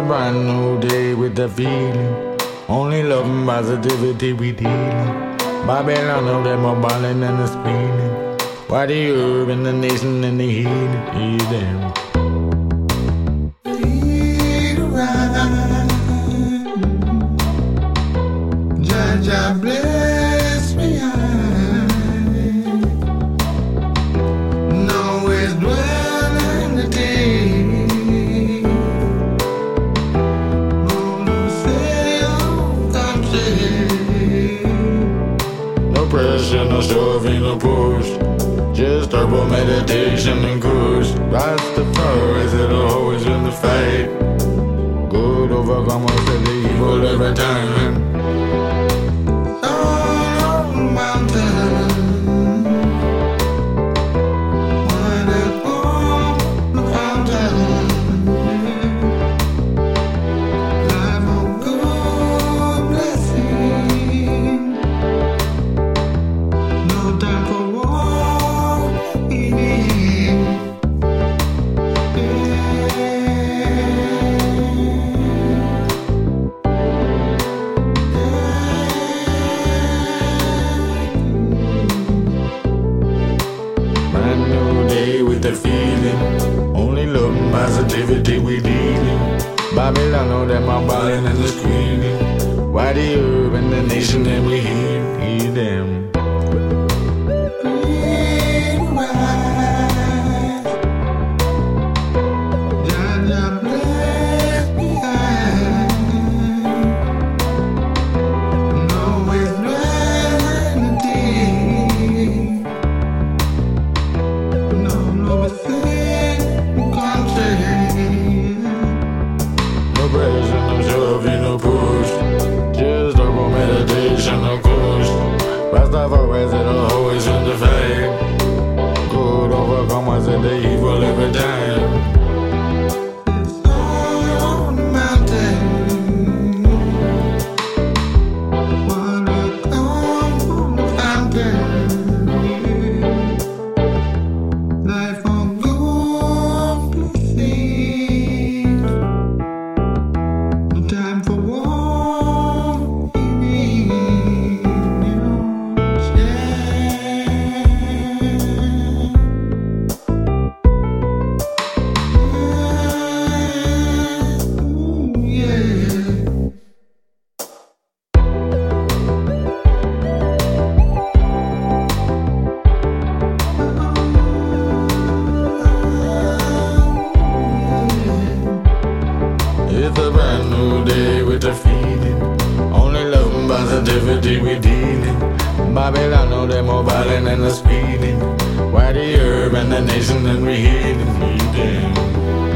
brand new day with the feeling. Only love and positivity we dealing. Babylon, know them more ballin' and the speeding. Why the herb and the nation and the healing? Yeah, them. Jah bless me, no is dwelling the day. Gonna sail, come sail. No pressure, no shoving, no push. Just herbal meditation and kush. Rastafari it'll always win the fight. Good overcome most of the evil every time. The feeling, only love and positivity we dealing. Babylon, know them are ballin' and the screaming. Why the herb and the nation that we hear them. No pressure, no shoving, no push. Just herbal meditation, no kush. Rastafari it'll always win the fight. Good overcome us in the evil every time. It's a brand new day with the feeling. Only love and positivity we dealing. Babylon, know them more violent and the speeding. Why the herb and the nation that we healing?